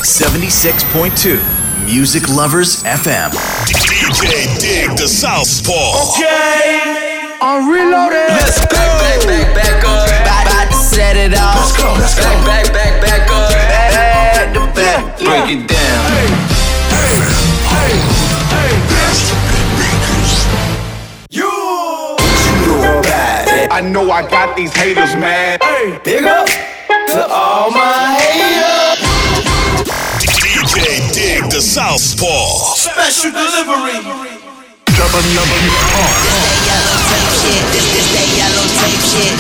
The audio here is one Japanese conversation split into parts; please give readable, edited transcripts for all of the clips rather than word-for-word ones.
76.2 Music Lovers FM. DJ Dig the Southpaw. Okay, I'm reloaded. Let's go. Back up. About to set it off. Let's go. Back up. Back to back. Break it down. I know I got these haters mad. Big up to all my haters. DJ Dig the Southpaw. Special delivery. This that yellow tape shit.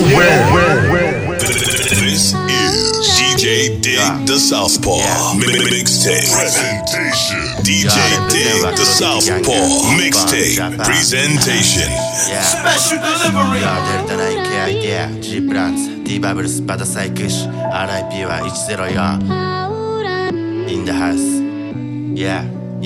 This is DJ Dig the Southpaw. Mixtape presentation. DJ Dig the Southpaw. Mixtape presentation. Special delivery. Delta 9K アイデア G プランツ D バブルスパダサイクシ RIP は104 In the house Yeah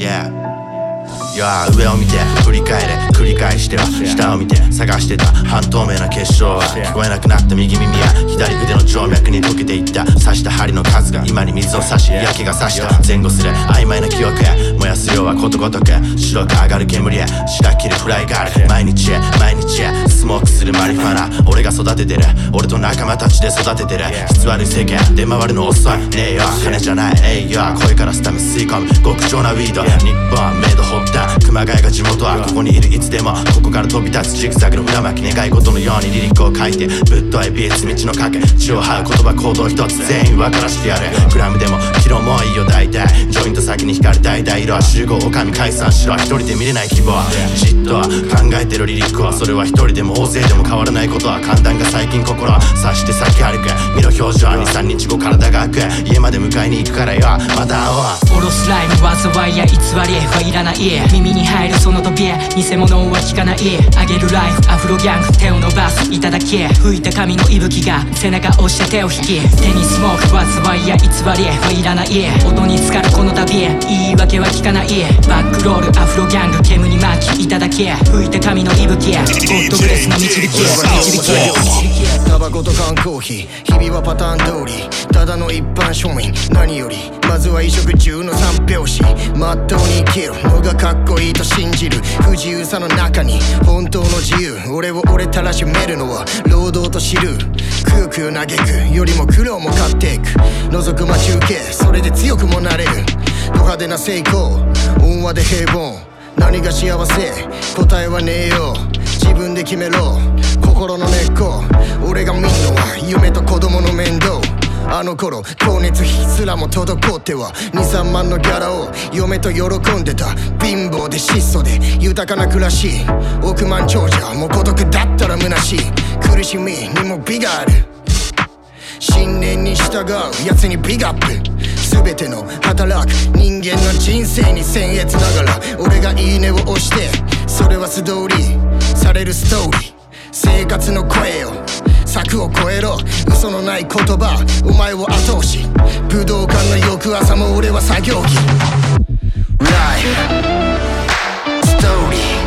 上を見て振り返れ繰り返しては下を見て探してた半透明な結晶は聞こえなくなった右耳や左腕の静脈に溶けていった刺した針の数が今に水を差し焼けが差した前後すれ曖昧な記憶へ燃やす量はことごとく白く上がる煙へ白切るフライガール毎日へスモークするマリファナ俺が育ててる俺と仲間たちで育ててる質悪い世間出回るの遅いねえよ金じゃないえいよ声からスタミ吸い込む極上なウィード日本メイドホッタ熊谷が地元はここにいるいつでもここから飛び立つジグザグの裏巻き願い事のようにリリックを書いてぶっといビーツ道の影血を這う言葉行動一つ全員分からしてやるグラムでもキロもいいよ大体ジョイント先に光る大々色は集合おかみ解散しろ一人で見れない希望じっと考えてるリリックはそれは一人でも大勢でも変わらないことは簡単が最近心を察して先歩く見ろ表情 2,3 日後体が開く家まで迎えに行くからよまた会おうおろすライム災いや偽りはいらない耳に入るその扉偽物は聞かないあげるライフアフロギャング手を伸ばすいただき吹いた髪の息吹が背中押して手を引き手にスモーク災いや偽りはいらない音に浸かるこの旅言い訳は聞かないバックロールアフロギャング煙に巻きいただき吹いた髪の息吹ゴッドブレスの導きタバコと缶コーヒー日々はパターン通りただの一般庶民何よりまずは衣食住の三拍子まっとうに生きるのがかっこいいと信じる不自由さの中に本当の自由俺を俺たらしめるのは労働と知るくよくよ嘆くよりも苦労も買っていく覗く待ち受けそれで強くもなれるド派手な成功温和で平凡何が幸せ答えはねえよ自分で決めろ心の根っこ俺が見んのは夢と子供の面倒あの頃光熱費すらも滞っては 2,3 万のギャラを嫁と喜んでた貧乏で質素で豊かな暮らし億万長者も孤独だったら虚しい苦しみにも美がある信念に従うやつにビッグアップ全ての働く人間の人生に僭越ながら俺がいいねを押してそれは素通りされるストーリー生活の声よ柵を越えろ嘘のない言葉お前を後押し武道館の翌朝も俺は作業着ライフストーリー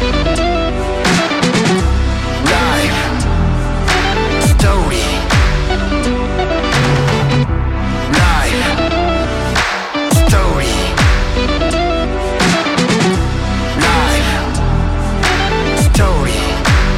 ライフストーリーライフストーリーライフストーリー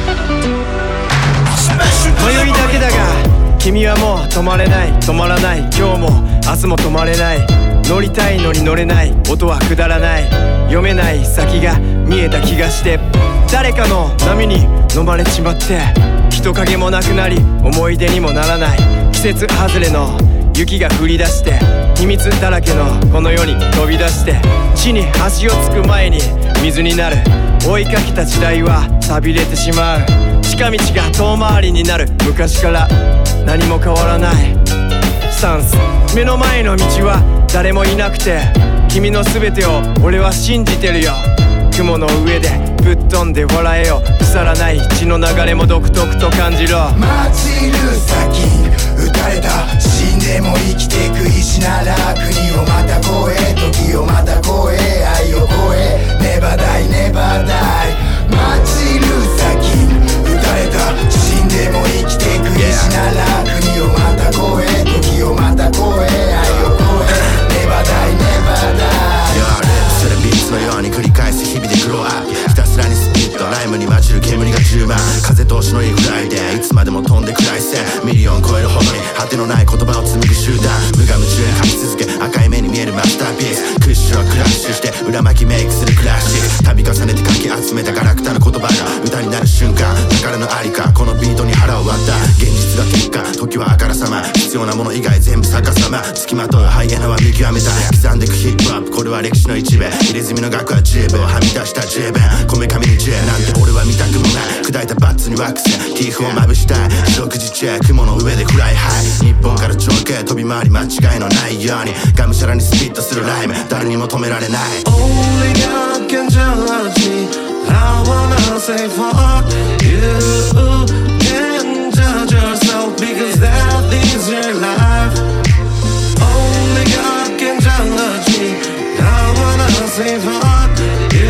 迷いだけだが君はもう止まれない止まらない今日も明日も止まれない乗りたいのに乗れない音はくだらない読めない先が見えた気がして誰かの波に飲まれちまって人影もなくなり思い出にもならない季節外れの雪が降り出して秘密だらけのこの世に飛び出して地に足をつく前に水になる追いかけた時代は寂れてしまう近道が遠回りになる昔から何も変わらないスタンス目の前の道は誰もいなくて君の全てを俺は信じてるよ雲の上でぶっ飛んで笑えよ腐らない血の流れも独特と感じろマーチン・ルーサー・キング撃たれた死んでも生きてく意志なら国をまた越え時をまた越え愛を越えネバダイネバダイマーチン・ルーサー・キング撃たれた死んでも生きてく意志なら国をまた越え時をまた越え愛を越えって裏巻きメイクするクラシック度重ねてかき集めたガラクタの言葉が歌になる瞬間宝のありかこのビートに腹を割った現実が結果時はあからさま必要なもの以外全部逆さま付きまとうハイエナは見極めた刻んでくヒップホップこれは歴史の一部入れ墨の額は十分はみ出した十分こめかみに10なんて俺は見たくもない砕いたバッツにワックスティーフをまぶしたい食事中雲の上でフライハイ日本から長距離飛び回り間違いのないようにがむしゃらにスピットするライム誰にも止められない Only God can judge me I wanna say fuck you Can't judge yourself because that is your life Only God can judge me I wanna say fuck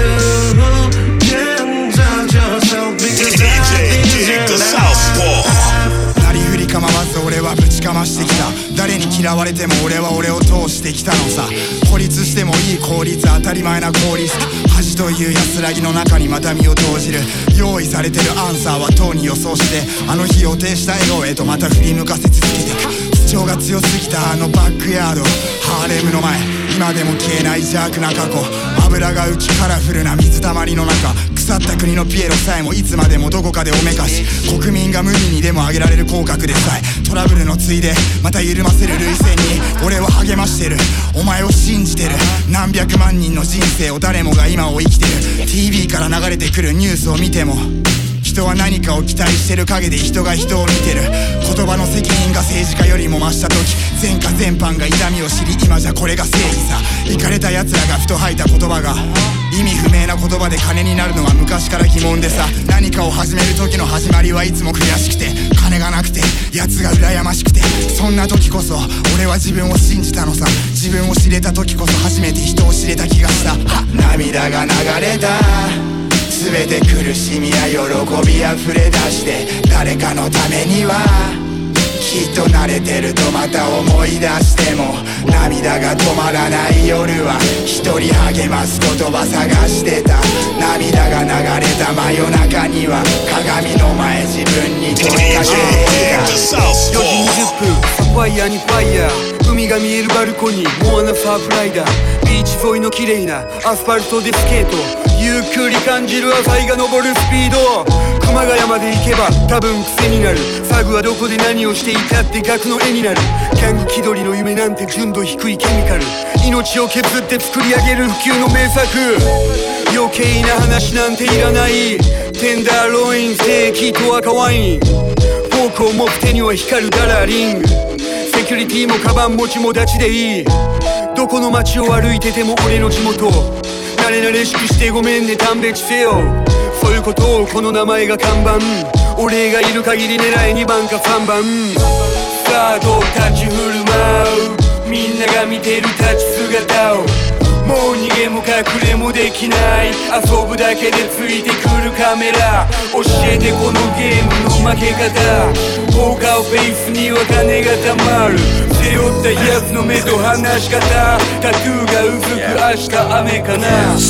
you Can't judge yourself because that is your life なりふり構わず俺はぶちかましてきた誰に嫌われても俺は俺を通してきたのさ孤立してもいい効率当たり前な効率恥という安らぎの中にまた身を投じる用意されてるアンサーはとうに予想してあの日予定した笑顔へとまた振り向かせ続けて主張が強すぎたあのバックヤードハーレムの前今でも消えない邪悪な過去油が浮きカラフルな水たまりの中腐った国のピエロさえもいつまでもどこかでおめかし国民が無理にでも上げられる口角でさえトラブルのついでまた緩ませる涙腺に俺は励ましてるお前を信じてる何百万人の人生を誰もが今を生きてる TV から流れてくるニュースを見ても人は何かを期待してる陰で人が人を見てる言葉の責任が政治家よりも増した時前科全般が痛みを知り今じゃこれが正義さイカれた奴らがふと吐いた言葉が意味不明な言葉で金になるのは昔から疑問でさ何かを始める時の始まりはいつも悔しくて金がなくて奴が羨ましくてそんな時こそ俺は自分を信じたのさ自分を知れた時こそ初めて人を知れた気がした涙が流れた全て苦しみや喜びあふれ出して誰かのためにはきっと慣れてるとまた思い出しても涙が止まらない夜は一人励ます言葉探してた涙が流れた真夜中には鏡の前自分に問いかけていた 4時20分サファイアにファイヤー海が見えるバルコニーモアナサーフライダービーチ沿いの綺麗なアスファルトでスケートゆっくり感じる朝日が昇るスピード熊谷まで行けば多分癖になるサグはどこで何をしていたって額の絵になるギャング気取りの夢なんて純度低いケミカル命を削って作り上げる普及の名作余計な話なんていらないテンダーロインステーキと赤ワインフォークを持つ手には光るダラーリングセキュリティもカバン持ちも立ちでいいどこの街を歩いてても俺の地元慣れ慣れしくしてごめんね勘弁してよそういうことをこの名前が看板俺がいる限り狙い2番か3番さあどう立ち振る舞うみんなが見てる立ち姿をもう逃げも隠れもできない遊ぶだけでついてくるカメラ教えてこのゲームの負け方ポーカーフェイスには金がたまる背負ったやつの目と話し方タトゥーがうずく明日雨かな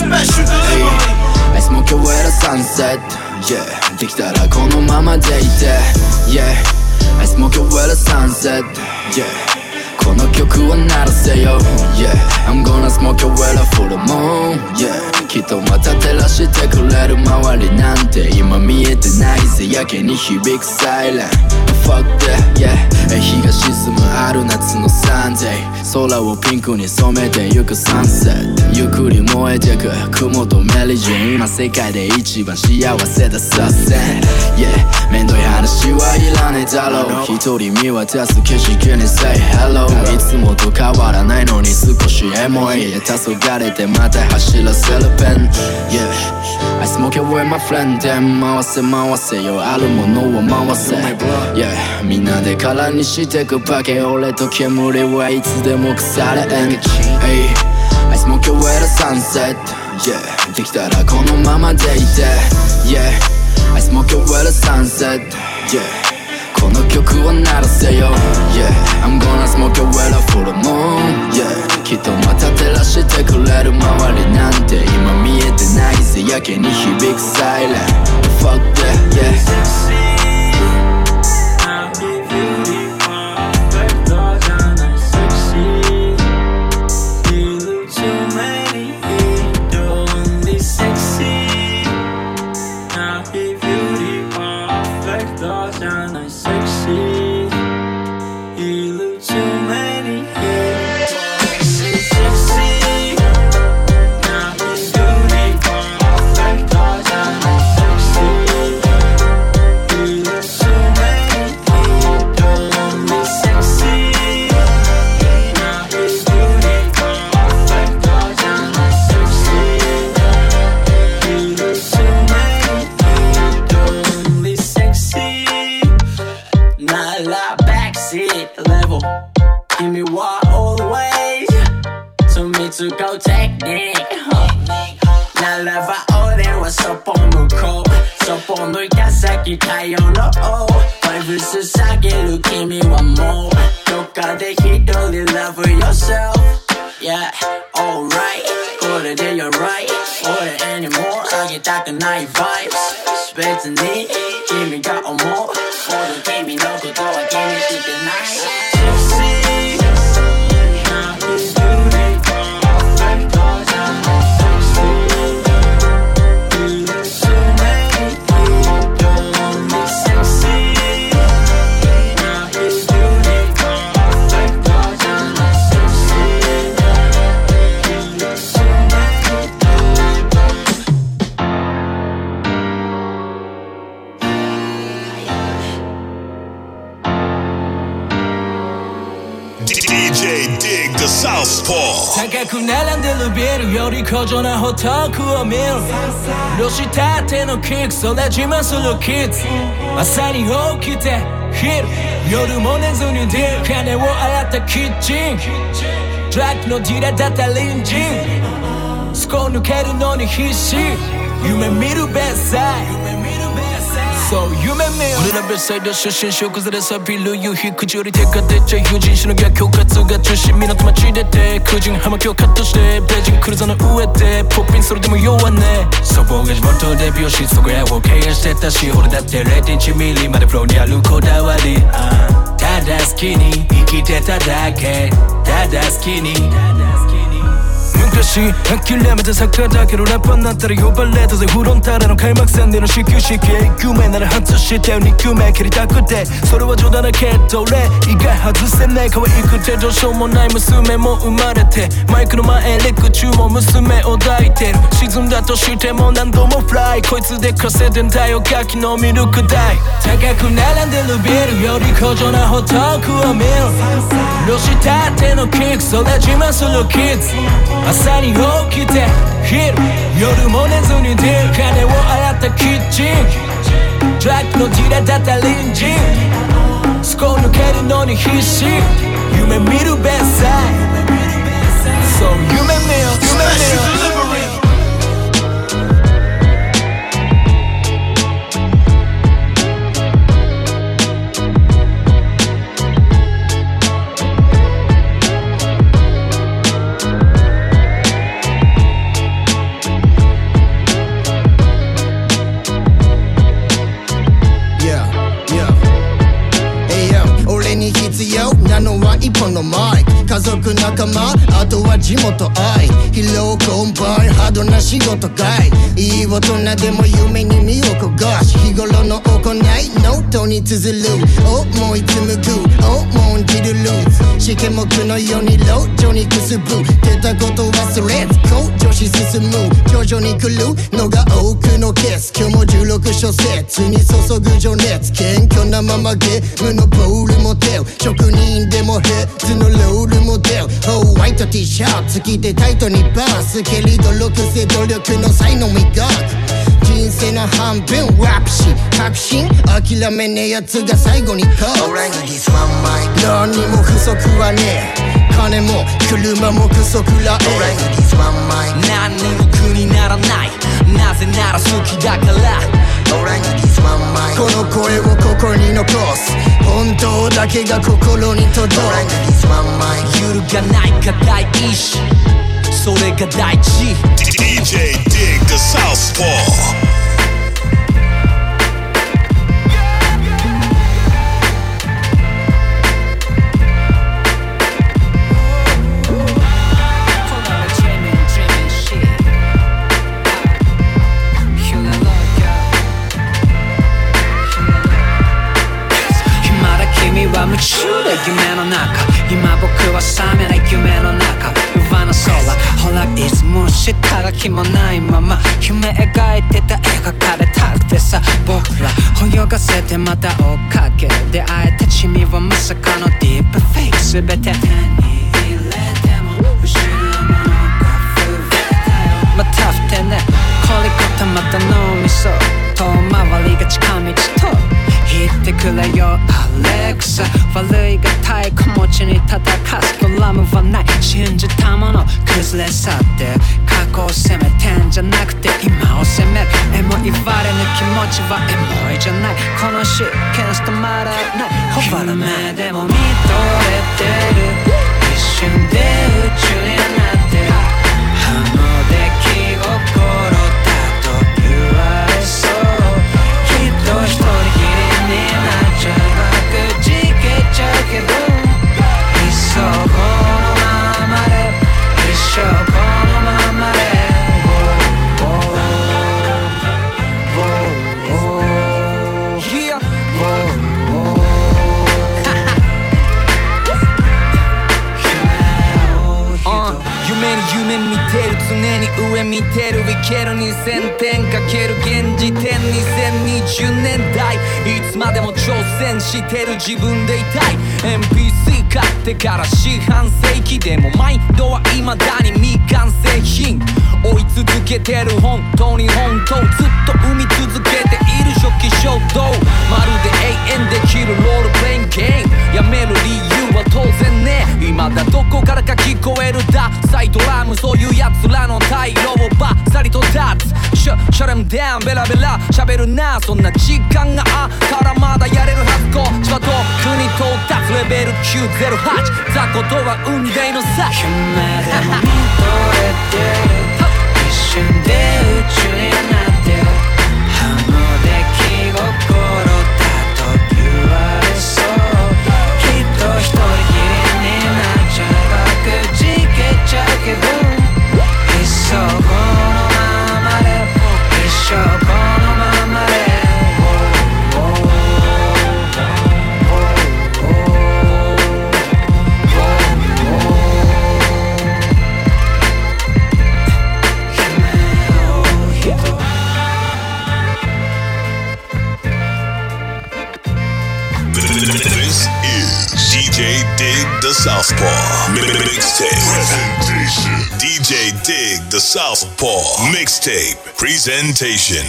I smoke away the sunset Yeah できたらこのままでいて Yeah I smoke away the sunset Yeahこの曲を鳴らせよ Yeah I'm gonna smoke away the full moon Yeah きっとまた照らしてくれる周りなんて今見えてないぜやけに響くサイレン Fuck that yeah 日が沈むある夏のサンデー空をピンクに染めてゆくサンセットゆっくり燃えてく雲とメリジン今世界で一番幸せださせ Yeah めんどい話はいらねえだろう一人見渡す景色に Say hello いつもと変わらないのに少しエモい黄昏てまた走らせるペン Yeah I smoke away my friend で回せ回せよあるものを回せ Yeah みんなで空にしてくパケ俺と煙はいつでも腐れん Hey I smoke away the sunset Yeah できたらこのままでいて Yeah I smoke away the sunset Yeahこの曲を鳴らせよ Yeah I'm gonna smoke away the full moon Yeah きっとまた照らしてくれる周りなんて今見えてないぜやけに響くサイレン Fuck that yeah 使うテクニックならば俺はそっぽ向こうそっぽ抜いた先太陽のバイブス下げる君はもうどっかで一人 love yourself Yeah, alright これで you're right 俺 anymore あげたくない vibes 別に君が思う俺君のことは気にしてない高く並んでるビルより高尚なホ遠くを見る露したてのキックそれ自慢するキッズ朝に起きて昼夜も寝ずに出る金を洗ったキッチンドラッグのディラーだった隣人スコ抜けるのに必死夢見るベッサイそう夢見よ俺ら別サイド出身小崩れさびる夕日口より手が出ちゃ友人しの逆境活が中心港町出て空人葉巻をカットしてベージンクルーザーの上でポッピンそれでも弱ねそぼが地元で美容室そこやを経営してたし俺だって 0.1 ミリまでフローにあるこだわりただ好きに生きてただけただ好きに昔諦めてサッカーだけどラッパーになったら呼ばれたぜフロンターレの開幕戦での始球式1球目なら外して2球目蹴りたくてそれは冗談だけど俺意外外せない可愛くてどうしようもない娘も生まれてマイクの前レク中も娘を抱いてる沈んだとしても何度もフライこいつで稼いでんだよガキのミルク代高く並んでるビルより高尚なホ遠くを見る露したてのキックそれ自慢するキッズ朝に起きて昼夜も寝ずに出る金を洗ったキッチンドラッグのディラーだった隣人スコ抜けるのに必死夢見るベッサイそう夢見よ夢見よ一本のマイク家族仲間あとは地元愛疲労困憊ハードな仕事外いい大人でも夢に身を焦がし日頃の行いノートに綴る思い紡ぐ重んじるルーツ試験目のように路上にくすぶ出たこと忘れず向上し進む徐々に来るのが多くのケース今日も16小節に注ぐ情熱謙虚なままゲームのボールモデル職人でもヘッズのロールモデルホワイト T シャツ着てタイトにバース蹴り努力せ努力の才能磨く人生の半分ラップし確信諦めねえやつが最後にこう何にも不足はねえ金も車もクソくらえ何にも苦にならないなぜなら好きだからこの声をここに残す本当だけが心に届く揺るがない固い意志それが大事 DJ Dig the Southpaw 夢中で夢の中今僕は覚めない夢の中上の空ほらいつも下書きもないまま夢描いてた描かれたくてさ僕ら泳がせてまた追っかけ出会えた君はまさかのディープフェイク全て手に入れても失うものが増えたよまたふてね凝り固まった脳みそ遠回りが近道と言ってくれよアレクサ悪いが太鼓持ちに叩かすドラムはない信じたもの崩れ去って過去を責めてんじゃなくて今を責めるエモいバレぬ気持ちはエモいじゃないこのシーケンス止まらないほばら目でも見とれてる一瞬で宇宙になってるあの出来心だと言われそうきっと一人きりになっちゃうくじけちゃうけどいっそこのままで一生このままで夢見てる常に上見てるいける2000点かける現時点2020年代いつまでも挑戦してる自分でいたい NPC 買ってから四半世紀でもマインドは未だに未完成品追い続けてる本当に本当ずっと生み続けている初期衝動まるで永遠できるロールプレインゲームやめる理由は当然ね未だどこからか聞こえるダサイドラムそういうやつらの退路をバッサリと立つシャレムダウンベラベラ喋るなそんな時間があったらまだやれるはずこっちは遠くに到達レベル908雑魚とは運命の差夢でも見とれてる一瞬で宇宙になってるあの出来心だと言われそうきっと一人きりになっちゃうくじけちゃうけどいっそこのままで一生このままで This is DJ Dig the Southpaw Mixtape Presentation. DJ Dig the Southpaw Mixtape Presentation.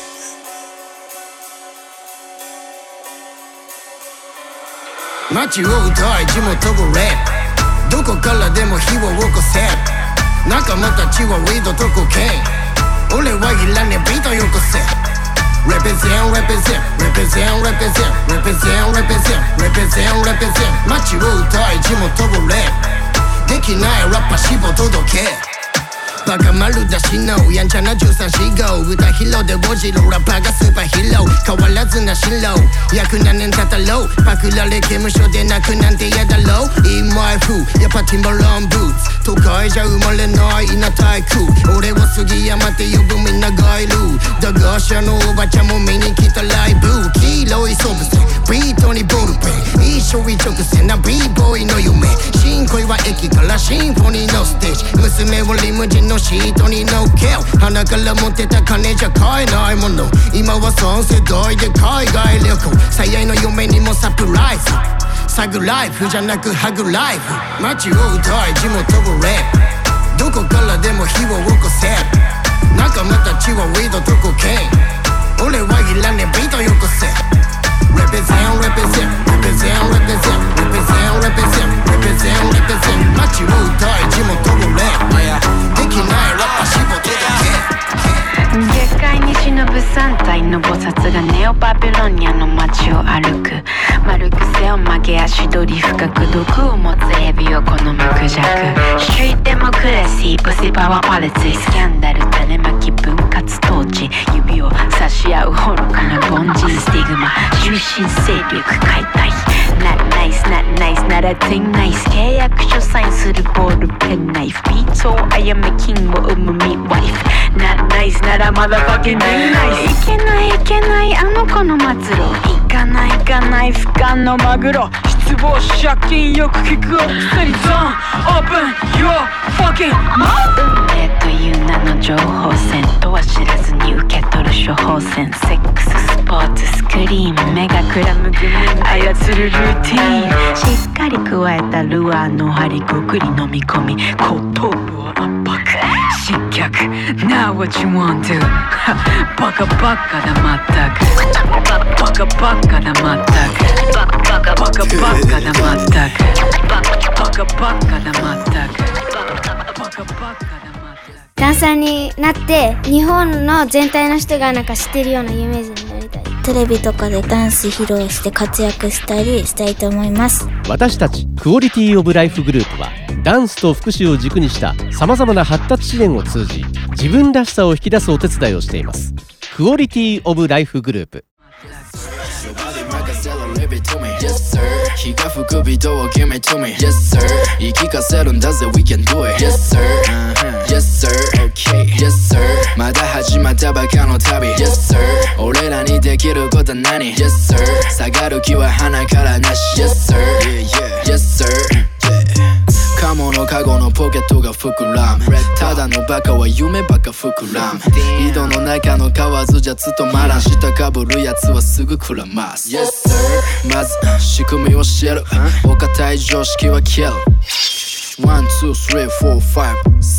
街を歌い地元語レップどこからでも火を起こせ仲間たちはウィードとコケイン俺はいらねビートよこせRepresent, represent, represent, represent, represent, represent, represent, represent 街を歌い地元をレップできないラッパしぼ届けバカ丸出しのやんちゃな1345歌披露でおじろラッパーがスーパーヒーロー変わらずな進路約何年経ったろうパクられ刑務所で泣くなんて嫌だろう In my food やっぱティンバロンブーツ都会じゃ生まれない稲体空俺を杉山って呼ぶみんながいる駄菓子屋のおばちゃんも見に来たライブ黄色いソブセビートにボールペン一生一直線な B-boy の夢新恋は駅からシンフォニーのステージ娘をリムジンのシートに乗っけ鼻から持ってた金じゃ買えないもの今は3世代で海外旅行最愛の嫁にもサプライズサグライフじゃなくハグライフ街を歌い地元をレップどこからでも火を起こせ仲間たちはウィードとコケイン俺はいらねビートよこせRepresent, represent, represent, represent, represent, represent, represent, represent 街を歌い地元をレップできないラッパしぼ届け月界に忍ぶ3体の菩薩がネオバビロニアの街を歩く丸癖を曲げ足取り深く毒を持つエビを好むクジャクストリートデモクラシープシパワーパレツスキャンダル種まき分割統治指を差し合う愚かな凡人スティグマ中心勢力解体 Not nice, not nice, not a thing nice 契約書サインするボールペンナイフビートをあやめキングを生むミッワイフ Not nice, not a motherfucking thing nice いけないいけないあの子の末路行かない行かない不可のマグロ失望借金よく聞くお薬ゾーン Open your fucking mouth 運命という名の情報戦とは知らずに受け取る処方箋セックススポーツスクリーン目がくらむグミ操るルーティーンしっかり加えたルアーの針ごくり飲み込み後頭部を圧迫失脚 Now what you want to バカバカだまったくバカバカだまったくバカバカだまったくバカバカだまったくバカバカンサーになって日本の全体の人がなんか知ってるような有名人になりたい。 テレビとかでダンス披露して活躍したりしたいと思います。 私たちクオリティオブライフグループはダンスと福祉を軸にしたさまざまな発達支援を通じ自分らしさを引き出すお手伝いをしています。クオリティオブライフグループ。 Yes sir 日が吹くビートを Give me to me Yes sir 言い聞かせるんだぜ We can do it Yes sir Yes sir Okay Yes sir まだ始まったばかの旅 Yes sir 俺らにできることは何 Yes sir 下がる気は鼻からなし Yes sir Yes sirカモのカゴのポケットが膨らむただのバカは夢ばっか膨らむ井戸の中の蛙じゃ務まらん下かぶるやつはすぐくらます Yes sir まず仕組みを教えるお堅い常識は消える 1, 2, 3, 4, 5,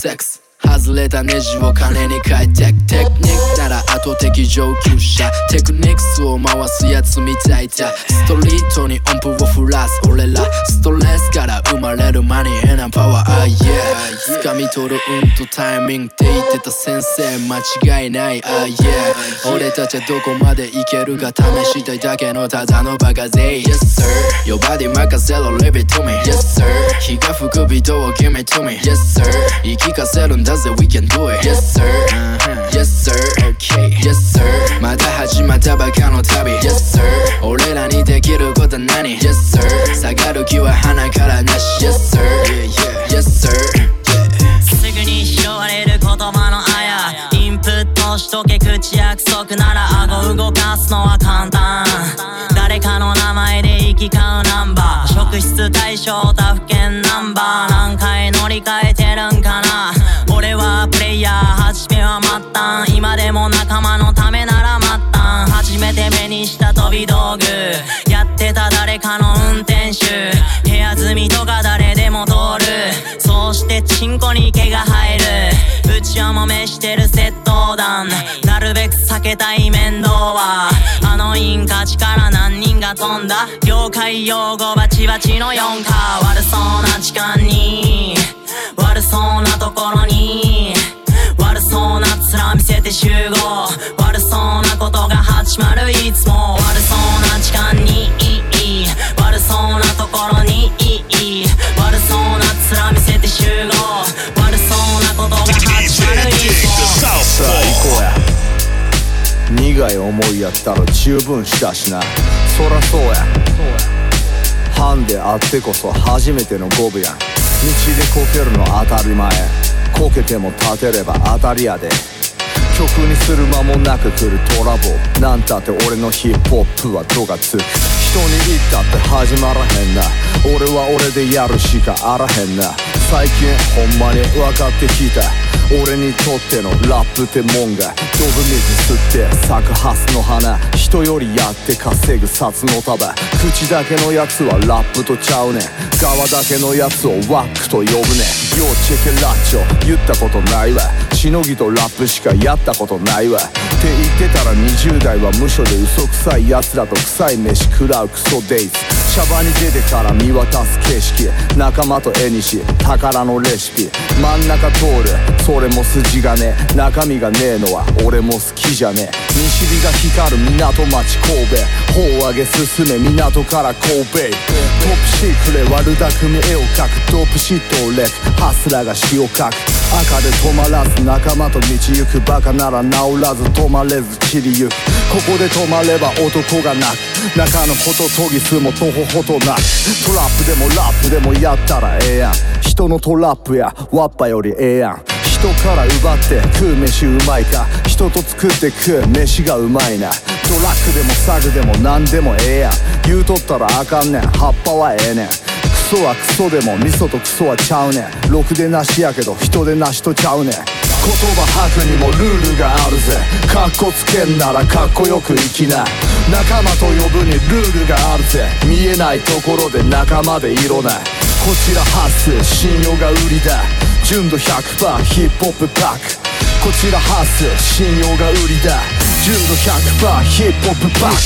6外れたネジを金に変えてテクニックなら後的上級者テクニックスを回すやつみたいだストリートに音符を振らす俺らストレスから生まれるマニーなパワー yeah 掴み取る運とタイミングって言ってた先生間違いない yeah 俺たちはどこまでいけるか試したいだけのただのバカ勢 Yes sir Your body 任せろ Leave it to me Yes sir 日が吹くビートを Give me to me Yes sir 言い聞かせるんだWe can do it Yes sir Yes sir Okay Yes sir まだ始まったばかの旅 Yes sir 俺らにできることは何 Yes sir 下がる気は鼻からなし Yes sir Yes sir すぐに拾われる言葉のあやインプットしとけ口約束なら顎動かすのは簡単誰かの名前で行き交うナンバー職質対象他府県ナンバー何回乗り換えてるんかな俺はプレイヤー初めは末端今でも仲間のためなら末端初めて目にした飛び道具やってた誰かの運転手部屋住みとか誰でも通るそうしてチンコに毛が生えるうちはもめしてる窃盗団なるべく避けたい面倒はあのインカチから何人が飛んだ業界用語バチバチの4か悪そうな時間に悪そうなところに悪そうな面見せて集合悪そうなことが始まるいつも悪そうな時間に悪そうなところに悪そうな面見せて集合悪そうなことが始まるいつもさあ行こうや苦い思いやったら十分したしなそらそうやハンデあってこそ初めてのゴブやん道でこけるの当たり前こけても立てれば当たりやで曲にする間もなく来るトラブルなんたって俺のヒップホップは度がつく人に言ったって始まらへんな俺は俺でやるしかあらへんな最近ほんまに分かってきた俺にとってのラップってもんがドブ水吸って咲くハスの花人よりやって稼ぐ札の束口だけのやつはラップとちゃうねん側だけのやつをワックと呼ぶねんようチェケラッチョ言ったことないわしのぎとラップしかやったことないわって言ってたら20代は無所で嘘くさい奴らと臭い飯食らうクソデイズシャバに出てから見渡す景色仲間と絵にし宝のレシピ真ん中通るそれも筋がね中身がねえのは俺も好きじゃねえ西日が光る港町神戸頬上げ進め港から神戸トップシークレ悪巧み絵を描くトップシットをレクハスラーが詩を書く赤で止まらず仲間と道行くバカなら治らず止まれず散りゆくここで止まれば男が泣く中のホトトギスもとほほとなくトラップでもラップでもやったらええやん人のトラップやワッパよりええやん人から奪って食う飯うまいか人と作って食う飯がうまいなドラッグでもサグでも何でもええやん言うとったらあかんねん葉っぱはええねんクソはクソでも味噌とクソはちゃうねんろくでなしやけど人でなしとちゃうねん言葉吐くにもルールがあるぜカッコつけんならかっこよく生きな仲間と呼ぶにルールがあるぜ見えないところで仲間で色ないこちらハッス信用が売りだ純度 100% ヒップホップパックこちらハッス信用が売りだ純度 100% ヒップホップパッ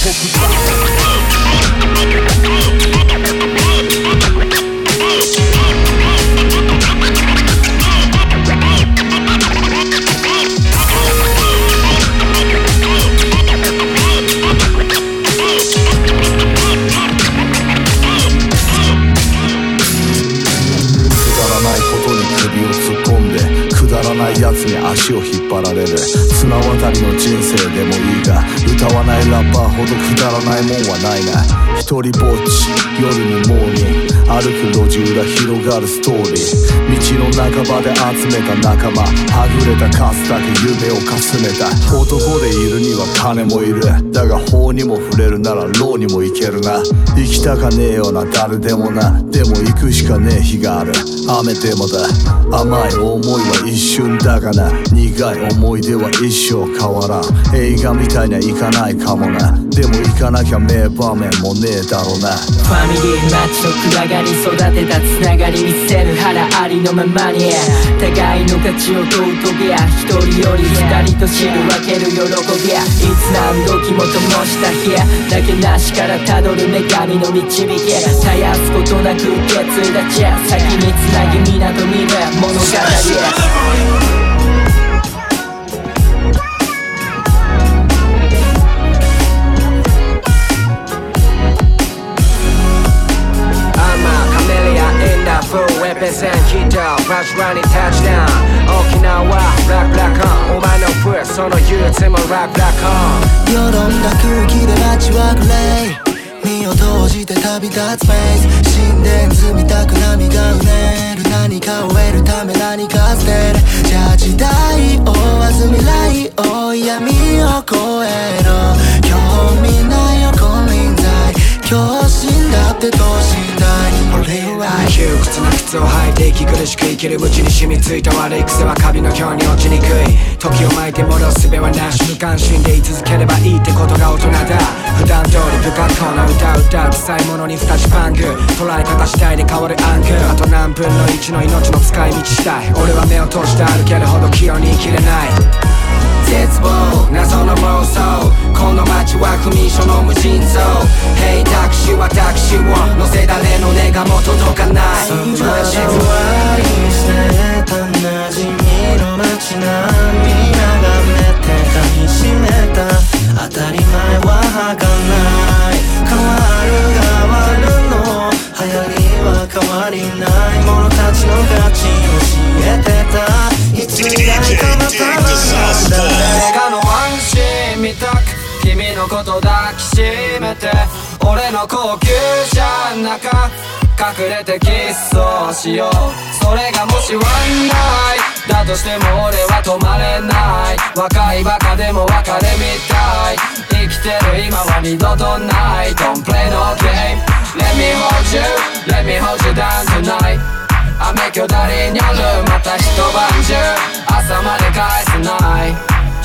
ク首を突っ込んでくだらないやつに足を引っ張られる。綱渡りの人生でもいいが、歌わないラッパーほどくだらないもんはないな。一人ぼっち夜にモーニング、歩く路地裏広がるストーリー。道の半ばで集めた仲間、はぐれた数だけ夢をかすめた。男でいるには金もいる。だが法にも触れるなら牢にも行けるな。行きたかねえよな誰でもな。でも行くしかねえ日がある。雨でもだ。甘い思いは一瞬だがな。苦い思い出は一生変わらん。映画みたいにはいかないかもな。でも行かなきゃ名場面もねえだろうな。 ファミリーマッチの暗がり育てたつながり見せる腹ありのままに、互いの価値を問うとびゃ、一人より二人と知る分ける喜びや、いつ何時も灯した日だけなしからたどる女神の導き、絶やすことなく受け継いだ地、先につなぎ港見る物語。 Represent ヒットバスラにタッチダウン。沖縄ラップラコン、お前のフッその憂鬱もラップラコン。 よどんだ空気で街はグレー、身を閉じて旅立つスペース。神殿積みたく波がうねる。何かを得るため何か捨てる。じゃあ時代を追わず未来を闇を越えろ。興味ないよ金輪際、今日死んだって等身大。俺は窮屈な靴を履いて息苦しく生きるうちに染みついた悪い癖はカビのように落ちにくい。時を巻いて戻す術はなし、無関心でい続ければいいってことが大人だ。普段通り不格好な歌を歌う臭いものに二つパング、捉え方次第で変わるアングル。あと何分の1の命の使い道したい。俺は目を閉じて歩けるほど器用に生きれない。絶望謎の妄想、この街は不眠所の無尽蔵。Hey タクシーはタクシーを乗せ誰の願も届かない。 街は愛してた馴染みの街並み眺めてかみしめた。当たり前は儚い。変わる変わるの流行りは変わりない。者たちの価値教えてた。いつ以来かなたなんだ。 映画のワンシーン見たく君のこと抱きしめて、俺の高級車の中隠れてキスをしよう。それがもしワンナイだとしても俺は止まれない。若いバカでも別れみたい。生きてる今は二度とない。 Don't play no game, let me hold you, let me hold you down tonight。 雨巨大にあるまた一晩中朝まで返せない。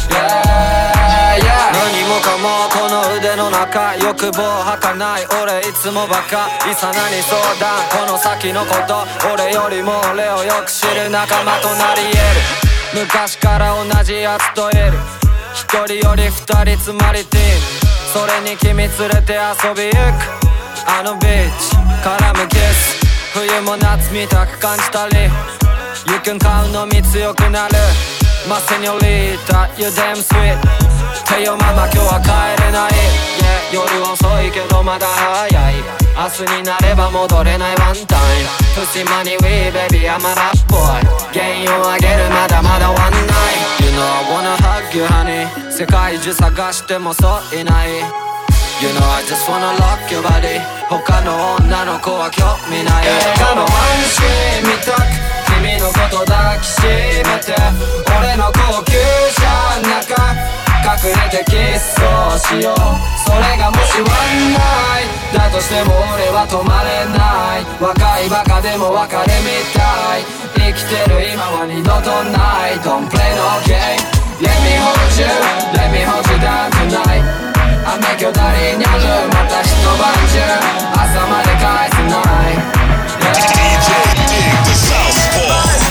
何もかもこの腕の中、欲望儚い俺いつもバカ。いさなに相談この先のこと、俺よりも俺をよく知る仲間となり得る。昔から同じやつといる。一人より二人つまりティーン、それに君連れて遊び行く。あのビーチ絡むキス、冬も夏みたく感じたり。You can count のみ強くなる。マセニョリータ You damn sweet。 てよママ今日は帰れない、yeah、夜遅いけどまだ早い。明日になれば戻れないワンタイム。プシマニウィーベビーI'm a rap boy。 原因をあげるまだまだワンナイト。 You know I wanna hug you honey。 世界中探してもそういない。You know I just wanna lock your body。 他の女の子は興味ない。映画のワンシーン見たく君のこと抱きしめて、俺の高級車の中隠れてキスをしよう。それがもしワンナイだとしても俺は止まれない。若いバカでも別れみたい。生きてる今は二度とない。 Don't play no game, let me hold you, let me hold you down tonight。 雨巨大にあるまた一晩中朝まで返せない。 DJ Dig the Southpaw。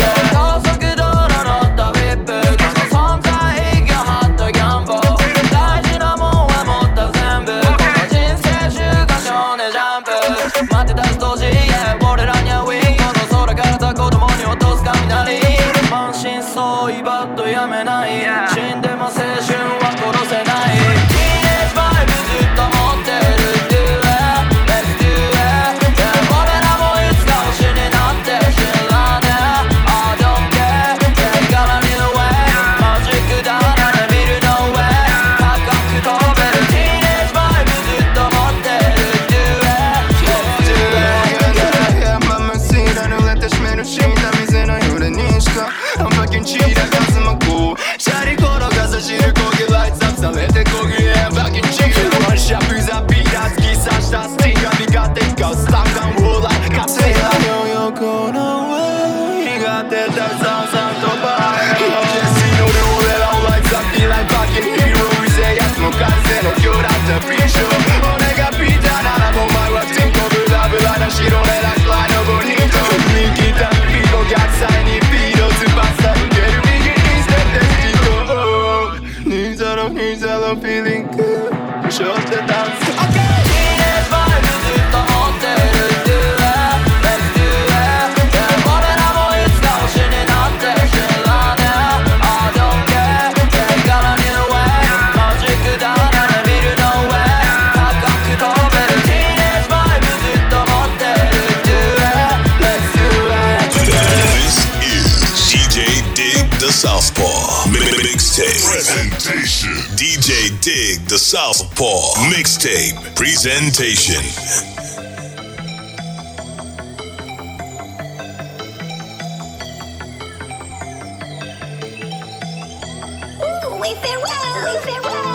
「 待ってたストージ、yeah、俺らにはウィンゴの空からた子供に落とす雷満身創痍バットやめない、yeah、死んでも青春は殺せない、ティーンエイジバイブずっと持ってる Do it, let's do it、yeah、俺らもいつか星になって知らねえ I don't care、yeah、から見る way マジックだなね見る no way 高く飛べるティーンエイジバイブずっと持ってる Do it, let's do it、 まましいらぬれてしめる死んだ店の揺れにしかI'm fucking cheat、I got some cool シャリ転がさしる焦げライツアップされて焦げ I'm fucking cheat ワンシャップザビーダー突き刺したスティンガー味方使うスタンガンウォーラー勝てや横の上苦手ださんさんとバイジェスので俺らをライツアップイラインバッキンヒーローうぜえやつも完成の今日だったフリーショー俺がピーターならお前はテンコブラブラな白レラフライのボニート右来たビート逆サイにビートズバッサ受ける右にステップデスティコニーザロニーザロフィーリングショートダンス OK ティーンエイジバイブずっと持ってる Do it, let's do it、yeah、俺らもいつか星になって知らねえ I don't care、yeah、から見る way マジックだなね見る no way 高く飛べるティーンエイジバイブずっと持ってる Do it, let's do it。 This is DJ Dig the Southpaw Mixtape Presentation. DJ Dig the Southpaw Mixtape Presentation. Ooh, we feel well, we feel well.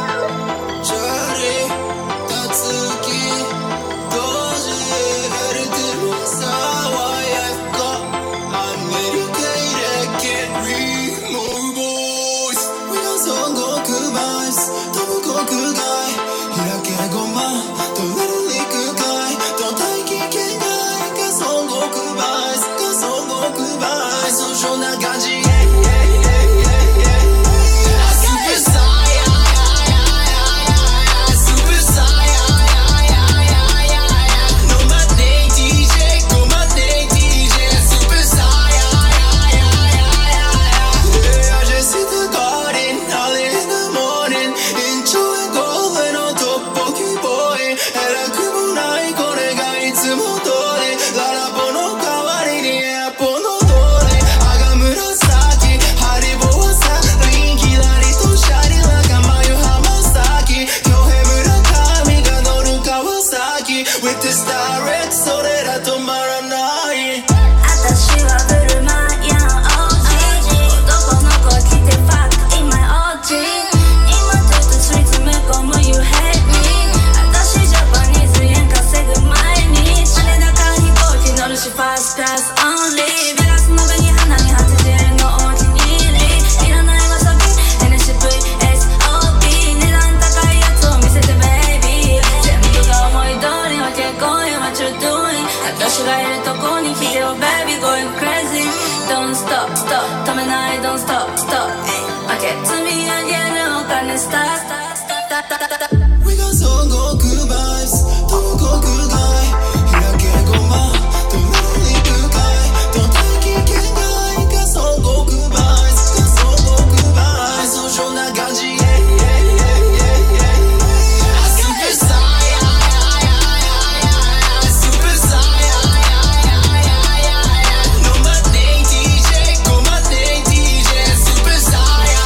We got Son Goku vibes, Togoku guy. Hirake goma, Torari guy. Don't take it, guy. Got Son Goku vibes, got Son Goku vibes. So show na ganji, Super Saiyan, Super Saiyan. No matei DJ, go matei DJ, Super Saiyan.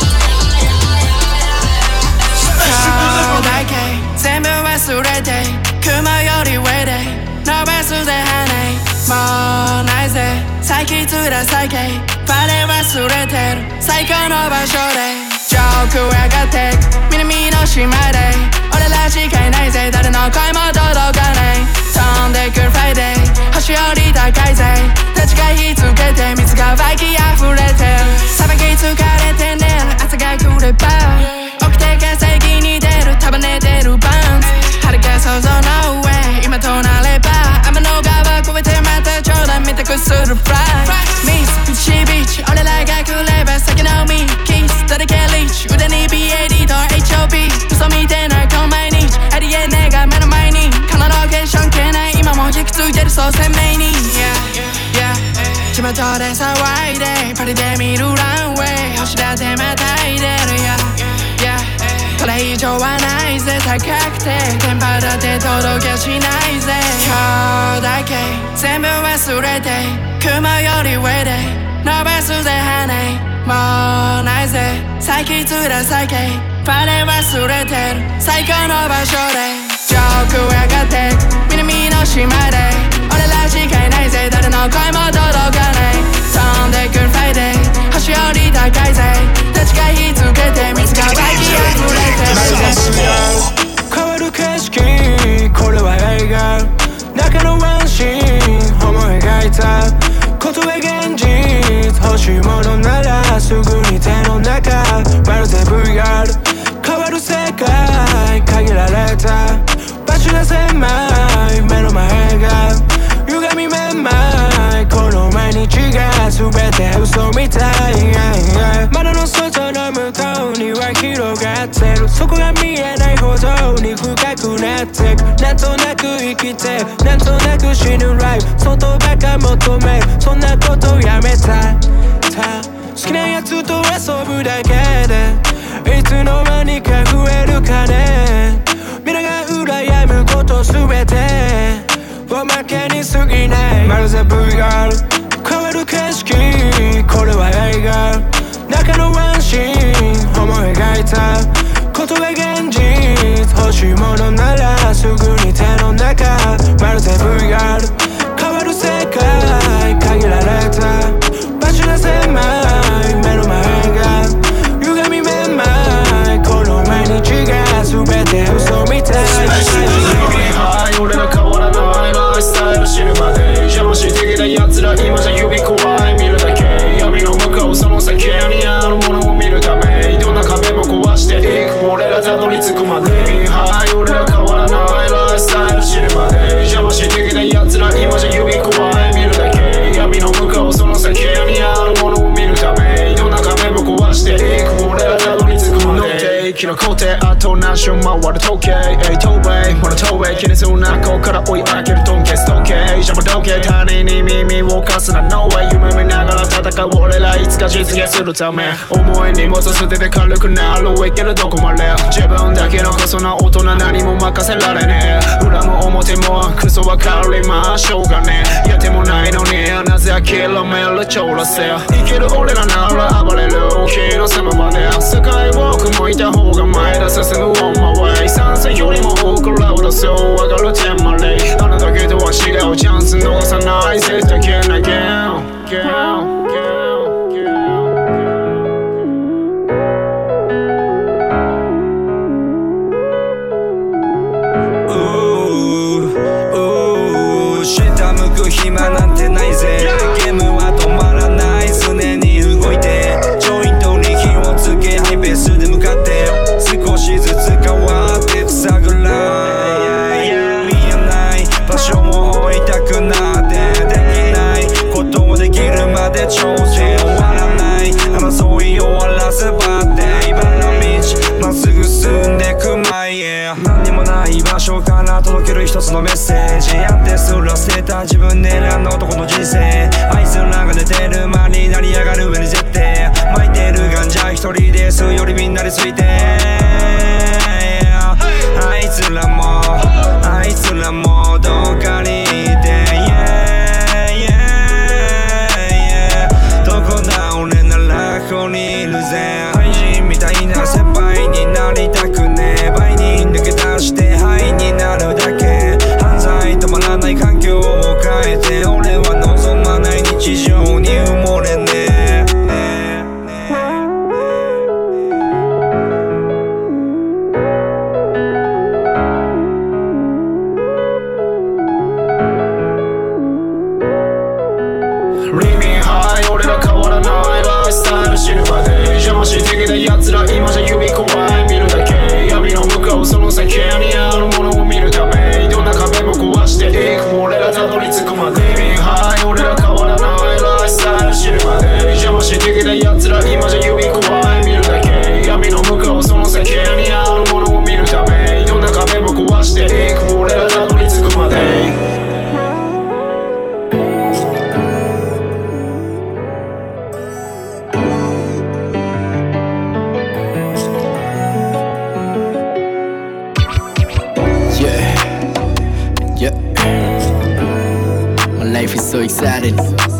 全部忘れて雲より上でノベスで跳ねもうないぜ最近つら最近バレ忘れてる最高の場所で上空上がって南の島で俺らしかいないぜ誰の声も届かない飛んでくるフライデー星より高いぜ立ち返りつけて水が湧き溢れてるさばき疲れて寝る朝が来れば起きて稼ぎに出る束ねてるバンズ遥か想像の上今となれば天の川越えてまた冗談見たくするフライミスピチビチ俺らが来れば先のミキス誰かリーチ腕に BAD と HOB 嘘みてないこの毎日ありえねえが目の前にこのロケーション消えない今も引き継いでるそう鮮明に 地元で騒いでパリで見るランウェイ星だってまたいでるこれ以上はないぜ高くて電波だって届けしないぜ今日だけ全部忘れて雲より上で伸ばすぜ羽もうないぜ最近つらさけパレ忘れてる最高の場所で上空上がって南の島で俺らしかいないぜ誰の声も届かない飛んでくるフライデー星より高いぜ立ち返りつけて水が湧き溢れて変わる景色これは映画中のワンシーン思い描いたことは現実欲しいものならすぐに手の中まるで VR 変わる世界限られた場所が狭い目の前が歪みめまいこの毎日が全て嘘みたい窓の外の向こうには広がってるそこが見えないほどに深くなってくなんとなく生きてなんとなく死ぬライフ外ばか求めそんなことやめた好きなやつと遊ぶだけでいつの間にか増えるかね皆が羨むことすべておまけに過ぎないまるで VR 変わる景色これは映画中のワンシーン思い描いたことが現実欲しいものならすぐに手の中まるで VR 変わる世界限られた場所が狭い目の前が歪みめまいこの毎日が全て嘘みたい俺ら変わらないライフスタイル死ぬまで邪魔してきた奴ら今じゃ指怖い見るだけ闇の向こうその先にあるものを見るためどんな壁も壊していく俺らたどり着くまではい俺ら変わらないライフスタイル死ぬまで邪魔してきた奴ら今じゃ指怖い見るだけ闇の向こうその先にあるものを見るためどんな壁も壊していく俺らたどり着くまでキロ工程あと何周回る時計東映モノ東映気にするなここから追い上げるトンケス時計邪魔時計他人に耳を貸すな No way 夢見ながら戦う俺らいつか実現するため重い荷物捨てて軽くなるいけるどこまで自分だけのクソな大人何も任せられねえ裏も表もクソわかりましょうがねえやってもないのになぜ諦める超らせ生きる俺らなら暴れる日の狭間で世界を向いた方が前だ進む on my way 賛成よりも多くラウドそう上がるテンマレイあなたけとは違うチャンス逃さない絶対けなげ下向く暇なんてないぜゲームは止まらない常に動いてジョイントに火をつけハイペースで向かって少しずつ変わってくさぐらい見えない場所も追いたくなってできないことをできるまで挑戦終わらない争い終わらせばって茨の道まっすぐ進んでく前へ何にもない場所から届ける一つのメッセージやってすら捨てた自分で選んだ男の人生あいつらが寝てる間に成り上がる上に絶対巻いてるガンジャ一人ですよりみんなについてあいつらもどっかにいてどこだ俺ならここにいるぜ愛人みたいな先輩になりたくねえ倍に抜け出して灰になるだけ犯罪止まらない環境を変えて俺は望まない日常に埋もれねえ死ぬまで邪魔してきた奴ら今じゃ指怖い見るだけ闇の向こうその先にあるものを見るためどんな壁も壊していく俺らたどり着くまではい俺ら変わらないライフスタイル死ぬまで邪魔してきた奴ら今じゃ指怖い見るだけ闇の向こうその先にあるものを見るためどんな壁も壊していく俺らたどり着くまで life is so exciting.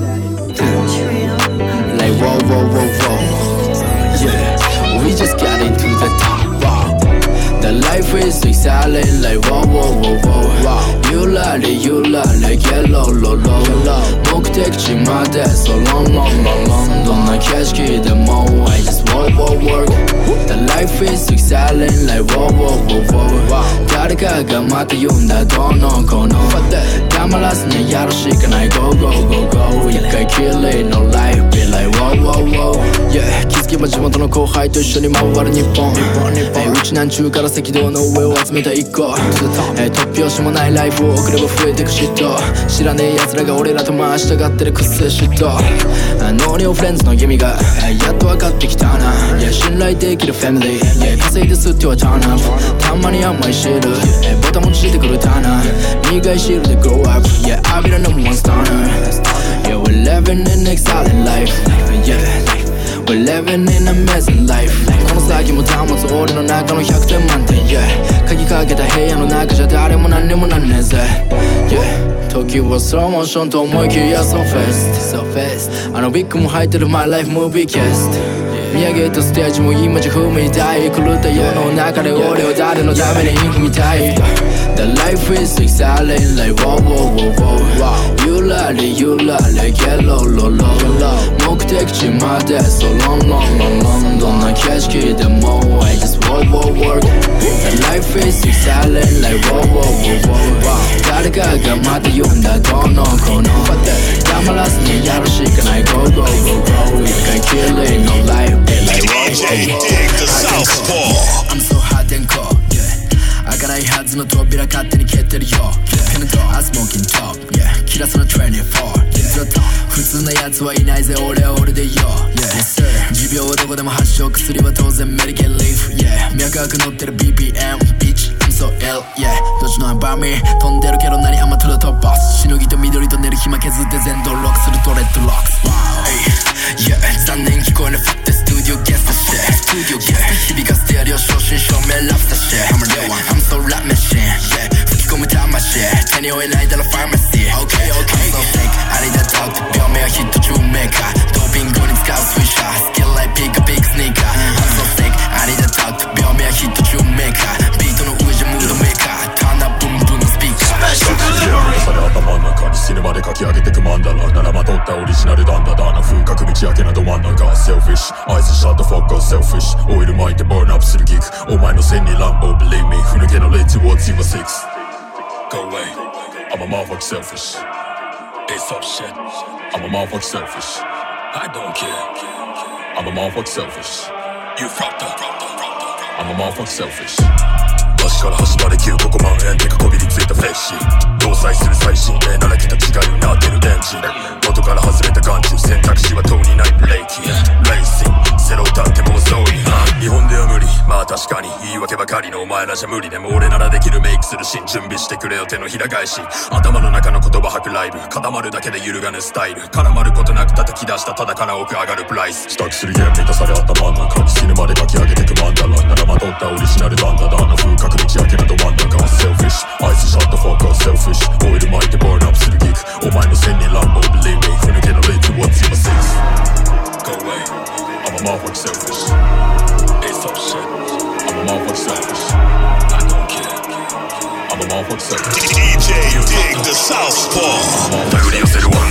Like whoa, whoa, whoa, whoa. Yeah, we just got into the top. Wow. The life is so exciting. Like whoa, whoa, whoa, whoa. Wow. You love it, yeah, low, low, low, low. 目的地まで so long, long, long, long. どんな景色でも I just whoa, whoa, work. The life is so exciting. Like whoa, whoa, whoa, whoa. 誰かがまた言うんだどうのこの黙らずにやるしかない Go, go, go, go. 一回きりの life be like whoa, whoa, whoa. Yeah, 気づけば地元の後輩と一緒に回る日本。うちなんちゅうから赤道の上を集めた一個。突拍子もないライフを送れば増えてく嫉妬。知らねえ奴らが俺らと回したがってるくっせ嫉妬。ノーニオフレンズの意味がやっと分かってきたな。信頼できるファミリー、稼いですってはターンアップ。たまに甘いシール、ボタン持ちしてくるターナー。苦いシールで grow up, yeah, I'll be the number one stunner. Yeah, we're living in exciting life. Yeah, we're living in amazing life. この先も保つ俺の中の100点満点。Yeah, 鍵かけた部屋の中じゃ誰も何にもなんねえぜ。Yeah, 時はスローモーションと思いきや so fast, so fast. あのビッグも入ってる my life movie cast。見上げたステージも今じゃ踏みたい。狂った世の中で俺は誰のために生きみたい。The life is exciting like whoa, whoa, whoa, whoa. You love it, yeah, low, low, low. 目的地まで so long, long, long, long. どんな景色でも I just whoa, whoa, work. The life is exciting like whoa, whoa, whoa, whoa. 誰かがまた言うんだどうのこの黙らずにやるしかない Go, go, go, go. 一回きりの life DJ Dig the Southpaw. I'm so hot and cold, yeah. 開かないはずの扉勝手に蹴ってるよ。Pen and I'm smoking top, yeah. キラスの24、yeah. 普通な奴はいないぜ、俺は俺でよ、yeah. Yes sir. 持病はどこでも発症、薬は当然メディケンリーフ、yeah. 脈拍乗ってる BPM, bitch, I'm so ill, yeah. どっちのアンバーミー飛んでるけど何アマトラトップボス。しのぎと緑と寝る暇削って全ドロックするとレッドロックス、wow. Yeah, 残念聞こえない fuck the studio guest the shit。Studio guest 響かせてやるよ正真正銘ラフター shit。I'm so rap machine, yeah。吹き込む魂手に負えないだろファーマシー。Okay, okay. I'm so sick ありだとって病名はヒット中メーカー。ドーピングに使うスイッシャー。スキルライピックピックスニーカー。I'm so sick ありだとって病名はヒット中メーカー。ビートの上じゃムードメーカー。ターンアップブンブンのスピーカー。 され頭の中に死ぬまで書き上げてくマンダラ。ならまとったオリジナルダンダダな風格道明けなど真ん中。Selfish アイスシャットフォック Selfish オイル巻いてバーンアップするギク。お前の線にランボー Believe me ふぬけのレッツ What's your six Go away I'm a motherfucker selfish It's up shit I'm a motherfucker selfish I don't care I'm a motherfucker selfish You fucked up I'm a motherfucker selfish足から端まで9ここ万円でかこびりついたフレッシー搭載する最新鋭ならきた違いになってる電池元から外れた眼中選択肢はとうにないブレーキレーシングセロ歌ってもうそうに日本では無理まあ確かに言い訳ばかりのお前らじゃ無理でも俺ならできるメイクするシーン準備してくれよ手のひら返し頭の中の言葉吐くライブ固まるだけで揺るがぬスタイル絡まることなく叩き出したただから奥上がるプライス支度するゲーム満たされ頭の中に死ぬまで書き上げてくマンダラならまとったオリジナルダンダダの風格道明けなど真ん中 Selfish アイスシャットフォーカー Selfish オイル巻いてバーンアップするギクお前の線にランボー Believe me ふぬけのレッツ What's your six Go away I'm a motherfucker selfish It's up shit I'm a motherfucker selfish I don't care I'm a motherfucker selfish DJ Dig the Southpaw 殴り寄せる one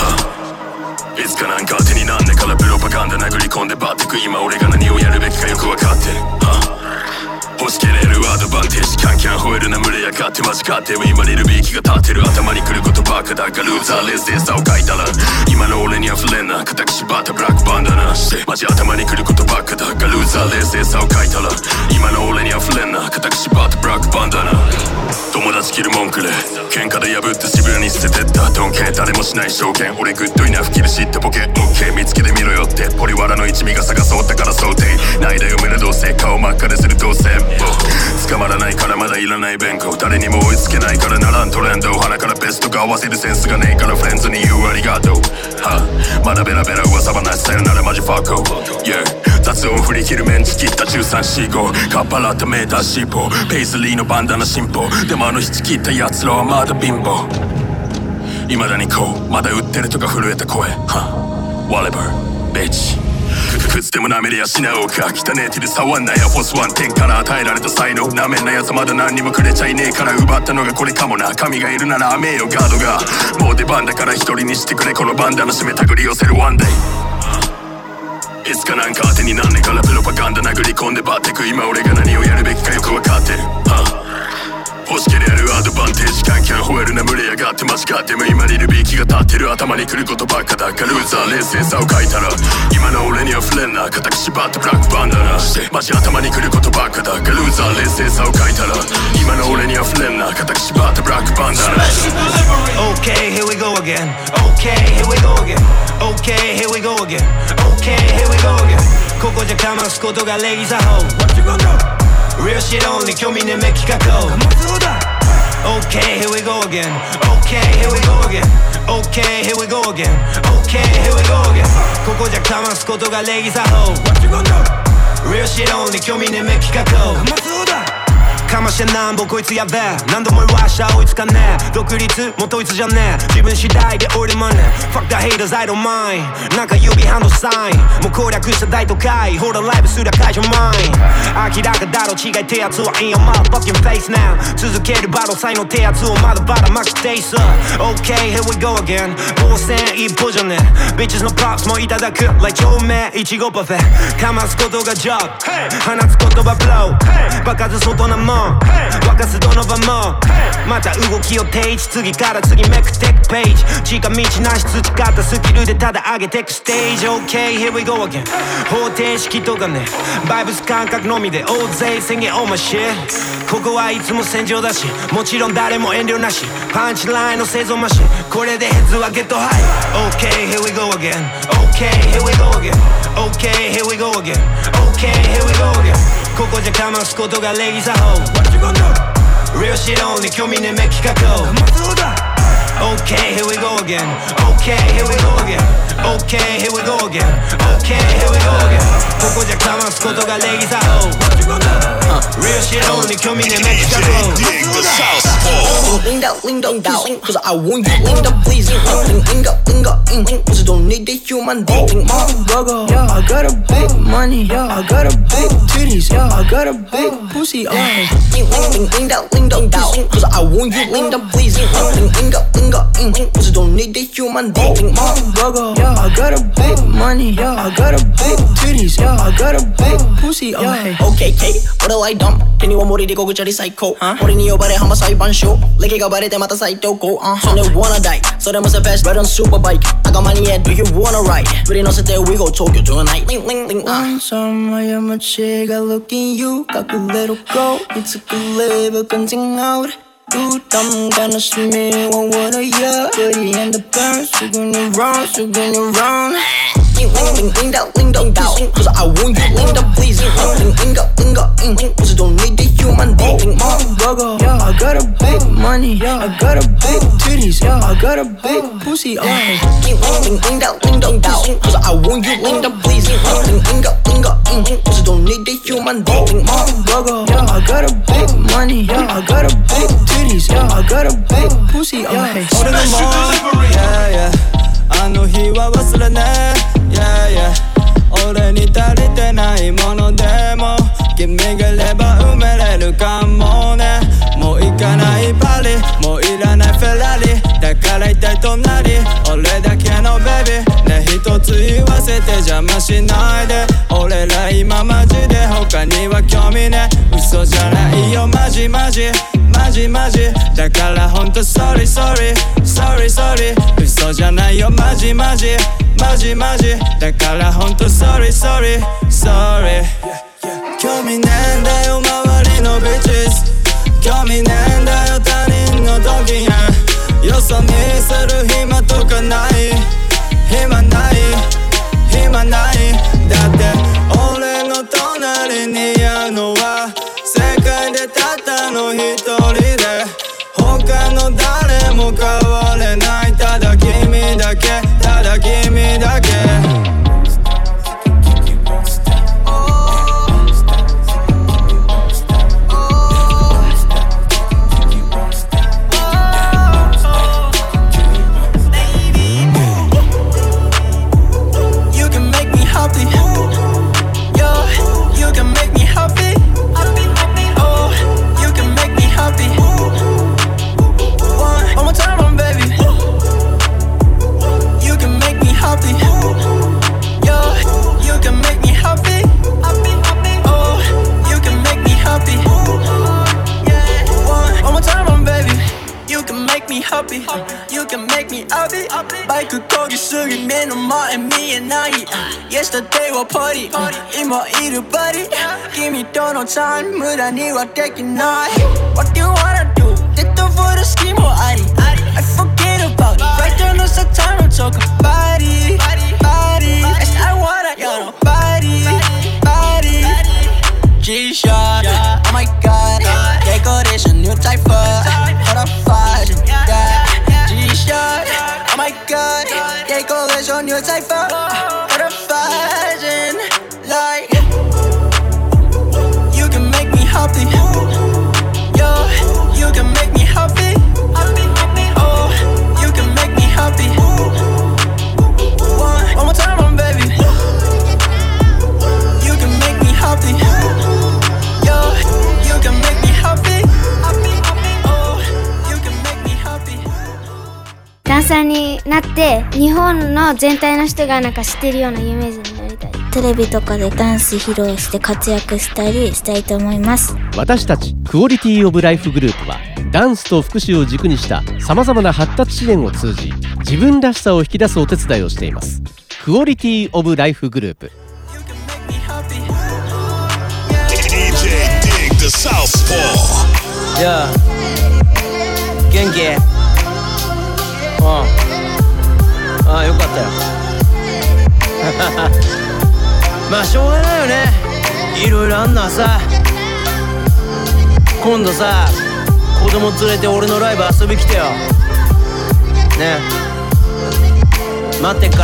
day いつかなんか当てになんねからプロパガンダ殴り込んでバッテク今俺が何をやるべきかよく分かってる欲しけれるアドバンテージキャンキャン吠えるな群れやがってマジかって今リルビーキが立てる頭に来ることばっかだがルーザーレスでさを書いたら今の俺に溢れんな固く縛ったブラックバンダナしてマジ頭に来ることばっかだがルーザーレスでさを書いたら今の俺に溢れんな固く縛ったブラックバンダナ友達切る文句で喧嘩で破って渋谷に捨ててったドンケ誰もしない証券俺グッドイナフキル知ってボケオッケー見つけてみろよってポリワラの一味が探そうだから想定ないだよ胸どうせ顔真っ赤でするどうせ捕まらないからまだいらない弁護誰にも追いつけないからならんトレンド鼻からベストが合わせるセンスがねえからフレンズに言うありがとうまだベラベラ噂話さよならマジファッコ Yeah 雑音振り切るメンチ切った1345カッパラったメーターシーポーペイズリーのバンダナ進歩でもあの引き切った奴らはまだ貧乏未だにこうまだ売ってるとか震えた声 Whatever bitch くつでも舐めりゃしなおか汚ねえ手で触んなやフォスワン10から与えられた才能舐めんなやつまだ何にもくれちゃいねえから奪ったのがこれかもな神がいるなら雨よガードがもう出番だから一人にしてくれこのバンダナ締めたぐり寄せるワンデイいつかなんか当てになんねからプロパガンダ殴り込んでバッテク今俺が何をやるべきかよくわかってる欲しけれやるアドバンテージ関係吠えるな群れ上がって間違っても今にルビー気が立ってる頭に来ることばっかだからルーザー冷静さを書いたら今の俺には触れんな固く縛ってブラックバンダナしてマジ頭に来ることばっかだからルーザー冷静さを書いたら今の俺には触れんな固く縛ってブラックバンダナ Okay, here we go again. Okay, here we go again. Okay, here we go again. Okay, here we go again. ここじゃかますことが礼儀作法 What you gonna do?Real shit only 興味ねめ企画 Okay, here we go again. Okay, here we go again. Okay, here we go again. Okay, here we go again. ここじゃかますことが礼儀作法 What you gonna do? Real shit only 興味ねめ企画かましてなんぼこいつやべえ何度も言わしゃ追いつかねえ独立も統一じゃねえ自分次第で俺もね Fuck the haters I don't mind なんか指ハンドサインもう攻略した大都会ほらライブすりゃ解除マイン明らかだろ違い手圧は in your motherfucking face now 続けるバトル才能手圧をまだまだマキテイス Okay here we go again 防戦一歩じゃねえ Bitches の props もいただく Like 超名いちごパフェかますことが job 放つ言葉 blow 爆発外なもん沸かすどの場もまた動きを定位置次から次めくテックページ近道なし培ったスキルでただ上げてくステージ OK here we go again 方程式とかねバイブス感覚のみで大勢宣言 Oh my shit ここはいつも戦場だしもちろん誰も遠慮なしパンチラインの製造マシンこれでヘッズはゲットハイ OK here we go again OK here we go again OK here we go again OK here we go again ここじゃかますことが礼儀作法 What you gonna do? Real shit only 興味ねめ企画 Okay, here we go again Okay, here we go again Okay, here we go again Okay, here we go again ここじゃかますことが礼儀作法 What you gonna do? Real shit only 興味ねめ企画 Lean down, lean down, down Cause I want you lean down, please Lean up Cause don't need the human being Yeah, I got a big money Yeah, I got a big titties Yeah, I got a big pussy Lean down, down Cause I want you lean down, please Lean up Cause don't need the human being Yeah, I got a big money Yeah, I got a big titties Yeah, I got a big pussy Okay, K, 俺はドン手には森でこぐちゃり最高俺に呼ばれ浜裁判所歴がバレてまた再投稿それ wanna die それもさ fast ride on super bike 赤間に yeah do you wanna ride 振り乗せて we go Tokyo tonight 한참의 멋지가 looking you 隠れろ go いつくれば感情が俺부담 가능심이 원원을 야 Dirty and the burn 수근이 run Lean down Cause I want you lean down please Lean up Cause don't need the human being Yeah, I got a big money Yeah, I got a big titties Yeah, I got a big pussy Lean down Cause I want you lean down please Lean up Cause don't need the human being Yeah, I got a big money Yeah, I got a big titties Yeah, I got a big pussy 俺のもん Yeah, yeah あの日は忘れねえ Yeah, yeah 俺に足りてないものでも君がいれば埋めれるかもねもう行かないパリもういらないフェラリだから一体隣俺だけのベビーね一つ言わせて邪魔しないで俺ら今マジで他には興味ね嘘じゃないよマジだからほんと sorry 嘘じゃないよマジだからほんと sorry 興味ねえんだよ周りのビッチズ興味ねえんだよ他人のドキやよそ見する暇とかない暇ないだって俺の隣にいるのは世界でたったの一人で他の誰も変われないただ君だけく漕ぎすぎ目の前見えない Yesterday はパリ今いるバディ君とのタイム無駄にはできない What do you wanna do デッドボール好きもあり I forget about it Right there no time to talk about it Body Yes I wanna you know Body G-Shock Oh my god Decoration new type of What a fashion G-Shock Oh my god Decoration new type of What a fashion Like You can make me happy Yo You can make me happy Oh You can make me happy One more time baby You can make me happy Yo You can make me happy Oh You can make me happy ダンサーになって日本の全体の人がなんか知ってるような有名人になりたい。 テレビとかでダンス披露して活躍したりしたいと思います。 私たちクオリティオブライフグループはダンスと福祉を軸にしたさまざまな発達支援を通じ自分らしさを引き出すお手伝いをしています。クオリティオブライフグループ。 DJ Dig the Southpaw。 元気？ああよかったよまあしょうがないよね、いろいろあんのはさ。今度さ子供連れて俺のライブ遊び来てよね、待ってっから。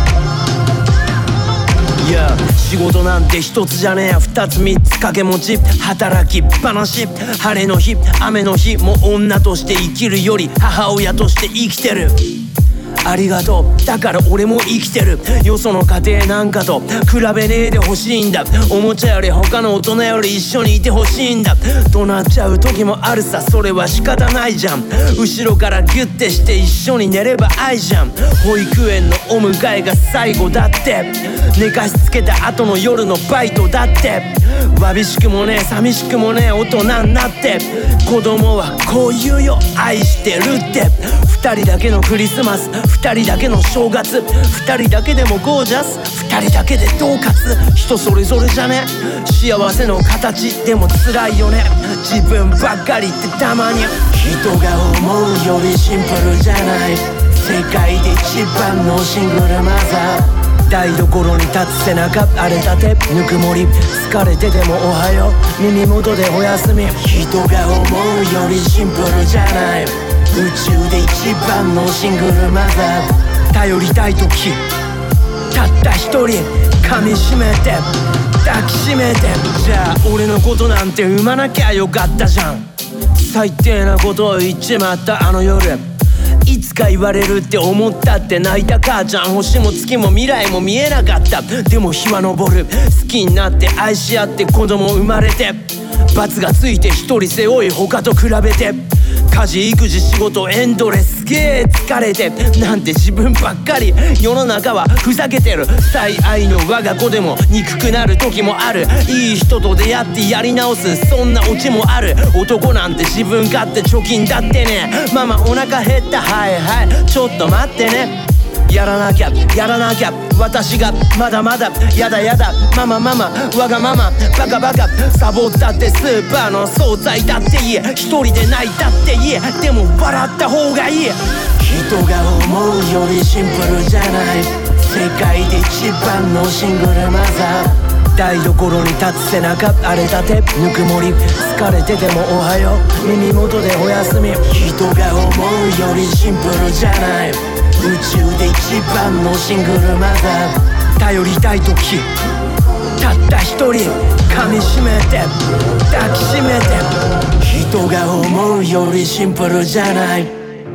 いや仕事なんて一つじゃねえや二つ三つ掛け持ち働きっぱなし、晴れの日雨の日も女として生きるより母親として生きてる。ありがとうだから俺も生きてる。よその家庭なんかと比べねえでほしいんだ。おもちゃより他の大人より一緒にいてほしいんだ。怒鳴っちゃう時もあるさ、それは仕方ないじゃん。後ろからギュッてして一緒に寝れば愛じゃん。保育園のお迎えが最後だって、寝かしつけた後の夜のバイトだって、わびしくもねえ寂しくもねえ大人になって、子供はこう言うよ愛してるって。二人だけのクリスマス二人だけの正月二人だけでもゴージャス二人だけで恫喝、人それぞれじゃね幸せの形でも辛いよね。自分ばっかりってたまに人が思うよりシンプルじゃない。世界で一番のシングルマザー、台所に立つ背中荒れたてぬくもり、疲れててもおはよう耳元でおやすみ。人が思うよりシンプルじゃない。宇宙で一番のシングルマザー、頼りたい時たった一人噛みしめて抱きしめて、じゃあ俺のことなんて産まなきゃよかったじゃん。最低なことを言っちまったあの夜、いつか言われるって思ったって泣いた母ちゃん。星も月も未来も見えなかった。でも日は昇る、好きになって愛し合って子供生まれて、罰がついて一人背負い他と比べて、家事育児仕事エンドレス、すげえ疲れてなんて自分ばっかり。世の中はふざけてる、最愛の我が子でも憎くなる時もある。いい人と出会ってやり直す、そんなオチもある。男なんて自分勝手貯金だってね。ママお腹減った、はいはいちょっと待ってね。やらなきゃやらなきゃ私がまだまだやだやだママママわがままバカバカサボったってスーパーの惣菜だっていい、一人で泣いたっていい、でも笑った方がいい。人が思うよりシンプルじゃない。世界で一番のシングルマザー、台所に立つ背中荒れたてぬくもり、疲れててもおはよう耳元でおやすみ。人が思うよりシンプルじゃない。宇宙で一番のシングルマザー、頼りたい時たった一人噛みしめて抱きしめて、人が思うよりシンプルじゃない。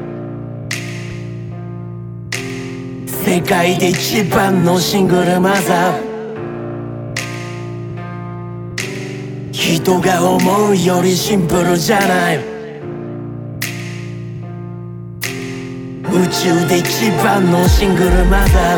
世界で一番のシングルマザー、人が思うよりシンプルじゃない。宇宙で一番のシングルマザー、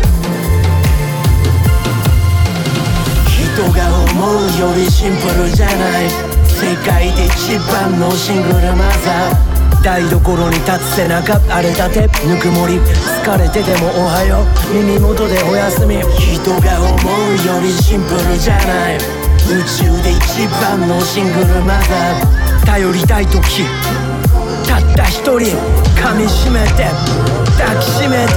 人が思うよりシンプルじゃない。世界で一番のシングルマザー、 台所に立つ背中荒れたてぬくもり疲れててもおはよう耳元でおやすみ人が思うよりシンプルじゃない宇宙で一番のシングルマザー頼りたい時たった一人噛みしめて抱きしめて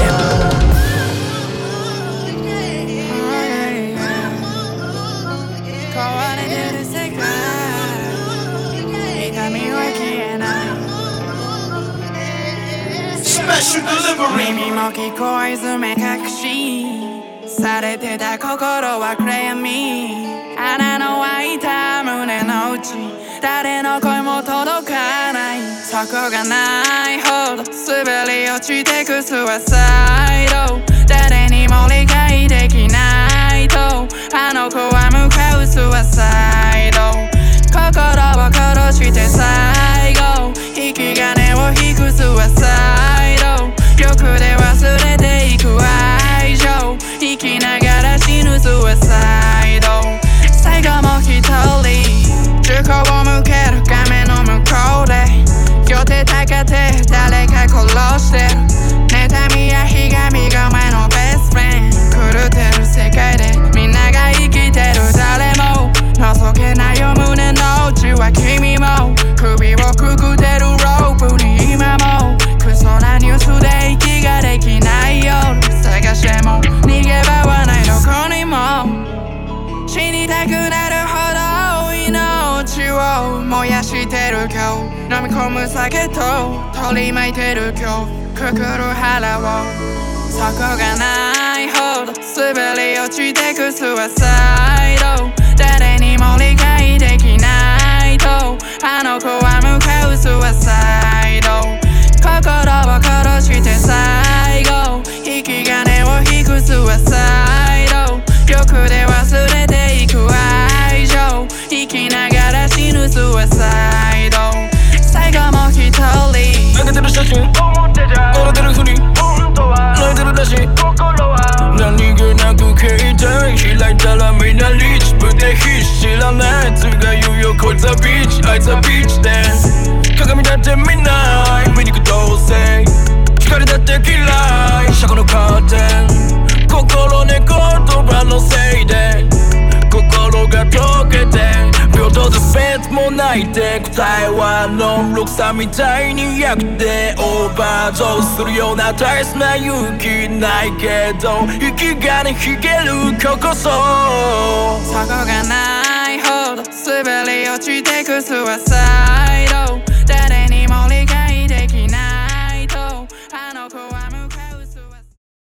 耳も聞こえず目隠しされてた心は暗闇穴の開いた胸の内誰の声も届かないそこがないほど滑り落ちてくスワサイド誰にも理解できないとあの子は向かうスワサイド心を殺して最後引き金を引くスワサイド欲で忘れていく愛情生きながら死ぬスワサイド最後も一人銃口を向ける画面の向こうで両手高て誰か殺してる妬みやひがみが前のベストフレンド狂ってる世界でみんなが生きてる誰も覗けないよ胸の内は君も首をくくってるロープに今もクソなニュースで息ができない夜探しても逃げ場はないどこにも死にたくなるほど命を燃やしてる今日飲み込む酒と取り巻いてる今日くくる腹をそこがないほど滑り落ちてくスワサイド誰にも理解できないとあの子は向かうスワサイド心を殺して最後引き金を引くスワサイド欲で忘れていく愛情生きながら死ぬスワサイド最後も一人投げてる写真笑ってるふり本当は泣いてるらしい心は何気なく携帯開いたらみんなリーチ部で必死知らないやつが言うよこいつはビーチあいつはビーチで鏡だって見ない醜同性光だって嫌い車庫のカーテン心ね言葉のせいで心が溶けて平等で別もないで答えはノンロクさみたいに役でオーバードーズするような大切な勇気ないけど息がねひげる今日こそそこがないほど滑り落ちてくスワサイ